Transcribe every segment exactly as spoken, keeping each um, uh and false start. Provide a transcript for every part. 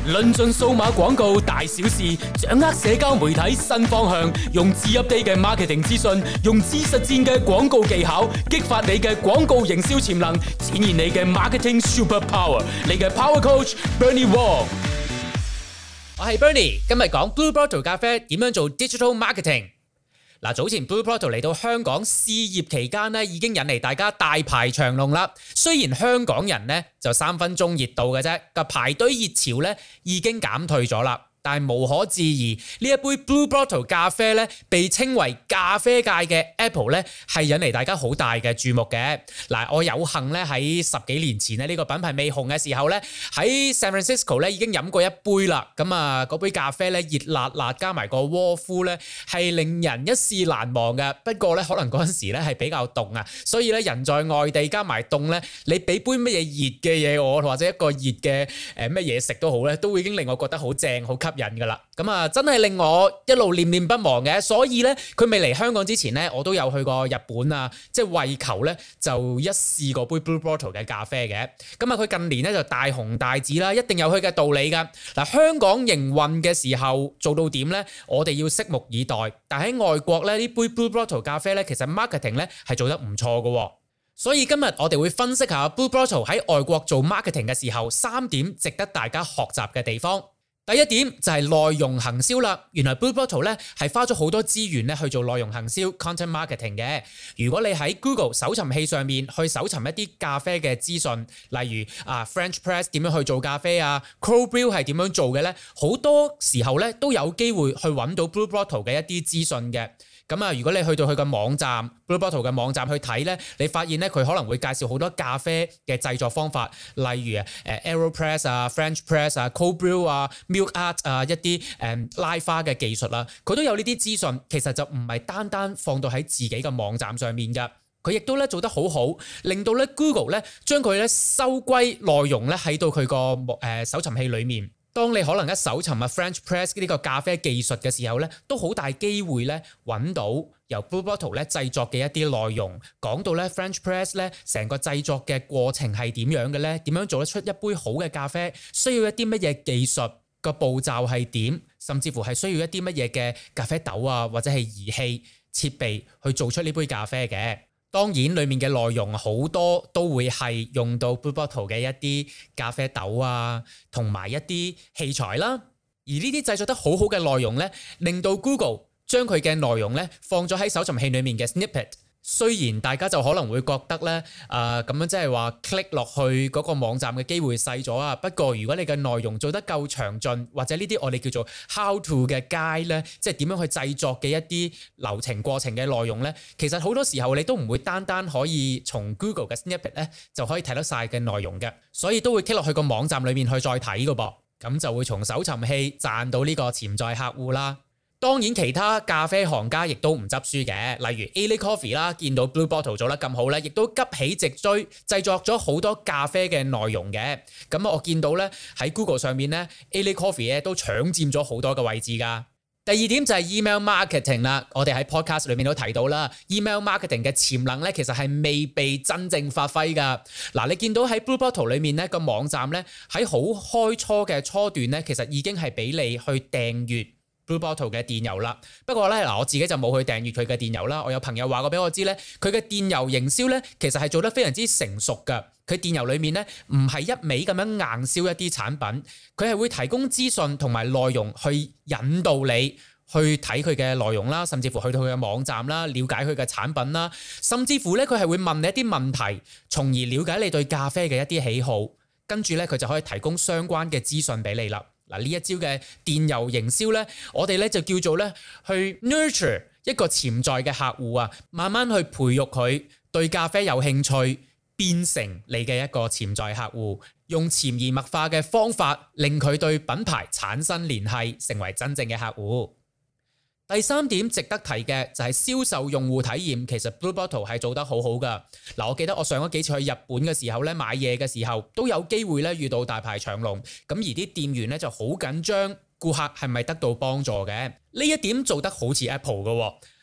論盡數碼廣告大小事，掌握社交媒體新方向，用最 update 嘅 marketing 資訊，用最實戰嘅廣告技巧，激發你嘅廣告營銷潛能，展現你嘅 marketing super power。你嘅 power coach Bernie Wong， 我係 Bernie，今日講 Blue Bottle 咖啡點樣做 digital marketing。嗱，早前 Blue Bottle 嚟到香港試業期間咧，已經引嚟大家大排長龍啦。雖然香港人咧就三分鐘熱度嘅啫，個排隊熱潮咧已經減退咗啦。但係無可置疑，呢一杯 Blue Bottle 咖啡咧，被稱為咖啡界嘅 Apple 咧，係引嚟大家好大嘅注目嘅。嗱，我有幸咧喺十幾年前咧呢個品牌未紅嘅時候咧，喺 San Francisco 咧已經飲過一杯啦。咁啊，嗰杯咖啡咧熱辣辣，加埋個窩夫咧係令人一試難忘嘅。不過咧可能嗰陣時咧係比較凍啊，所以咧人在外地加埋凍咧，你俾杯乜嘢熱嘅嘢我，或者一個熱嘅誒乜嘢食都好咧，都已經令我覺得好正好吸引噶啦，咁啊真係令我一路念念不忘嘅。所以咧佢未嚟香港之前咧，我都有去過日本啊，即係為求咧就一試過杯 Blue Bottle 嘅咖啡嘅。咁啊佢近年咧就大紅大紫啦，一定有佢嘅道理噶。嗱，香港營運嘅時候做到點咧，我哋要拭目以待。但喺外國咧呢杯 Blue Bottle 咖啡咧，其實 marketing 咧係做得唔錯噶。所以今日我哋會分析下 Blue Bottle 喺外國做 marketing 嘅時候，三點值得大家學習嘅地方。第一點就係內容行銷啦。原來 Blue Bottle 咧係花咗好多資源咧去做內容行銷 content marketing 嘅。如果你喺 Google 搜尋器上面去搜尋一啲咖啡嘅資訊，例如啊 French Press 點樣去做咖啡啊 Cold Brew 係點樣做嘅咧，好多時候咧都有機會去揾到 Blue Bottle 嘅一啲資訊嘅。咁啊，如果你去到佢嘅網站 Blue Bottle 嘅網站去睇咧，你發現咧佢可能會介紹好多咖啡嘅製作方法，例如誒 AeroPress 啊、French Press 啊、Cold Brew 啊、Milk Art 啊一啲誒拉花嘅技術啦，佢都有呢啲資訊。其實就唔係單單放到喺自己嘅網站上面㗎，佢亦都咧做得好好，令到咧 Google 咧將佢咧收歸內容咧喺到佢個誒搜尋器裡面。當你可能一搜尋啊 French Press 呢個咖啡技術嘅時候咧，都好大機會咧揾到由 Blue Bottle 咧製作嘅一啲內容，講到咧 French Press 咧成個製作嘅過程係點樣嘅咧，點樣做得出一杯好嘅咖啡，需要一啲乜嘢技術，個步驟係點，甚至乎係需要一啲乜嘢嘅咖啡豆啊，或者係儀器設備去做出呢杯咖啡嘅。當然裡面嘅內容好多都會係用到 Blue Bottle 嘅一啲咖啡豆啊，同埋一啲器材啦。而呢啲製作得好好嘅內容咧，令到 Google 將佢嘅內容咧放咗喺搜尋器裡面嘅 snippet。雖然大家就可能會覺得咧，誒咁樣即係話 click 落去嗰個網站嘅機會細咗啊。不過如果你嘅內容做得夠詳盡，或者呢啲我哋叫做 how to 嘅 guide 咧，即係點樣去製作嘅一啲流程過程嘅內容咧，其實好多時候你都唔會單單可以從 Google 嘅 snippet 咧就可以睇得晒嘅內容嘅，所以都會 click 落去個網站裏面去再睇㗎噃，咁就會從搜尋器賺到呢個潛在客戶啦。當然其他咖啡行家亦都唔執輸嘅，例如 A L A Coffee 啦，見到 Blue Bottle 做得咁好咧，亦都急起直追，製作咗好多咖啡嘅內容嘅。咁我見到咧喺 Google 上面咧 A L A Coffee 咧都搶佔咗好多嘅位置㗎。第二點就係 email marketing 啦，我哋喺 podcast 裏面都提到啦 ，email marketing 嘅潛能咧其實係未被真正發揮㗎。嗱，你見到喺 Blue Bottle 裏面咧個網站咧喺好開初嘅初段咧，其實已經係俾你去訂閱Blue Bottle 嘅電郵啦，不過咧嗱，我自己就冇去訂閱佢嘅電郵啦。我有朋友話過俾我知咧，佢嘅電郵營銷咧，其實係做得非常之成熟㗎。佢電郵裡面咧，唔係一味咁樣硬銷一啲產品，佢係會提供資訊同埋內容去引導你去睇佢嘅內容啦，甚至乎去到佢嘅網站啦，了解佢嘅產品啦，甚至乎咧佢係會問你一啲問題，從而了解你對咖啡嘅一啲喜好，跟住咧佢就可以提供相關嘅資訊俾你啦。嗱，呢一招嘅電郵營銷咧，我哋咧就叫做咧去 nurture 一個潛在嘅客戶啊，慢慢去培育佢對咖啡有興趣，變成你嘅一個潛在客戶，用潛移默化嘅方法令佢對品牌產生聯繫，成為真正嘅客戶。第三點值得提嘅就係銷售用戶體驗，其實 Blue Bottle 係做得好好噶。嗱，我記得我上咗幾次去日本嘅時候咧，買嘢嘅時候都有機會咧遇到大排長龍，咁而啲店員咧就好緊張顧客係咪得到幫助嘅。呢一點做得好似 Apple 嘅。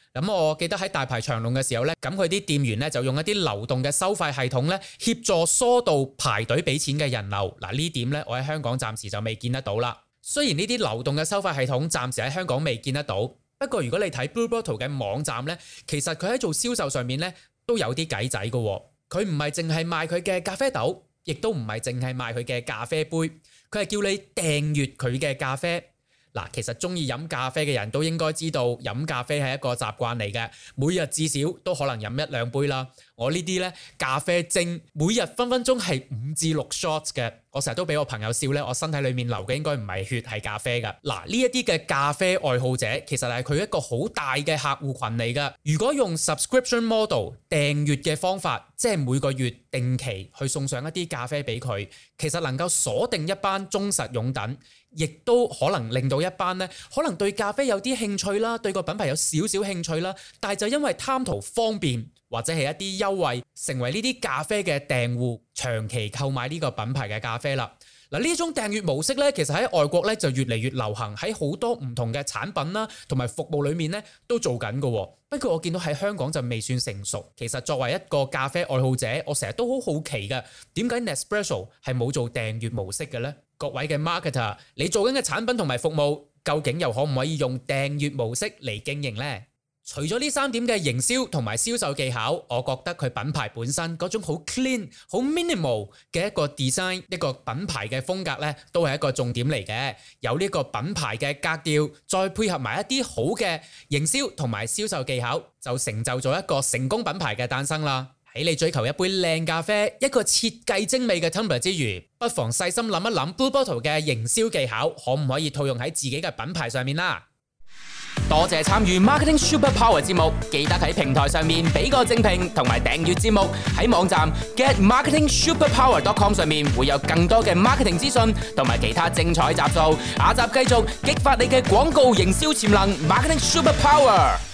咁我記得喺大排長龍嘅時候呢，咁佢啲店員呢就用一啲流動嘅收費系統呢協助疏導排隊俾錢嘅人流。嗱，呢點呢，我喺香港暫時就未見得到啦。雖然呢啲流動嘅收費系統暫時喺香港未見得到，不過如果你睇 Blue Bottle 嘅網站呢，其實佢喺做銷售上面呢都有啲計仔嘅。佢唔係淨係賣佢嘅咖啡豆，亦都唔係淨係賣佢嘅咖啡杯，佢係叫你訂閱佢嘅咖啡。嗱，其實中意飲咖啡嘅人都應該知道，飲咖啡係一個習慣嚟嘅，每日至少都可能飲一兩杯啦。我呢啲呢咖啡精，每日分分鐘係五至六 shots 嘅。我成日都俾我朋友笑呢，我身體裡面流嘅應該唔係血，係咖啡㗎。嗱，呢一啲嘅咖啡愛好者，其實係佢一個好大嘅客戶群嚟㗎。如果用 subscription model 訂閱嘅方法，即係每個月定期去送上一啲咖啡俾佢，其實能夠鎖定一班忠實擁躉，亦都可能令到一班呢可能對咖啡有啲興趣啦，對個品牌有少少興趣啦，但係就因為貪圖方便或者係一啲優惠，成為呢啲咖啡嘅訂戶，長期購買呢個品牌嘅咖啡啦。嗱，呢種訂閱模式咧，其實喺外國咧就越嚟越流行，喺好多唔同嘅產品啦同埋服務裡面咧都做緊嘅。不過我見到喺香港就未算成熟。其實作為一個咖啡愛好者，我成日都好好奇嘅，點解 Nespresso 係冇做訂閱模式嘅呢？各位嘅 marketer，你做緊嘅產品同埋服務，究竟又可唔可以用訂閱模式嚟經營呢？除咗呢三點嘅營銷同埋銷售技巧，我覺得佢品牌本身嗰種好 clean、好 minimal 嘅一個 design， 一個品牌嘅風格呢，都係一個重點嚟嘅。有呢個品牌嘅格調，再配合埋一啲好嘅營銷同埋銷售技巧，就成就咗一個成功品牌嘅誕生啦。喺你追求一杯靚咖啡、一個設計精美嘅 tumbler 之餘，不妨細心諗一諗 Blue Bottle 嘅營銷技巧，可唔可以套用喺自己嘅品牌上面啦？多謝參與 Marketing Super Power 節目，記得喺平台上面俾個正評同埋訂閱節目。喺網站 get marketing super power dot com 上面會有更多嘅 marketing 資訊同埋其他精彩集數。下集繼續激發你嘅廣告營銷潛能 ，Marketing Super Power。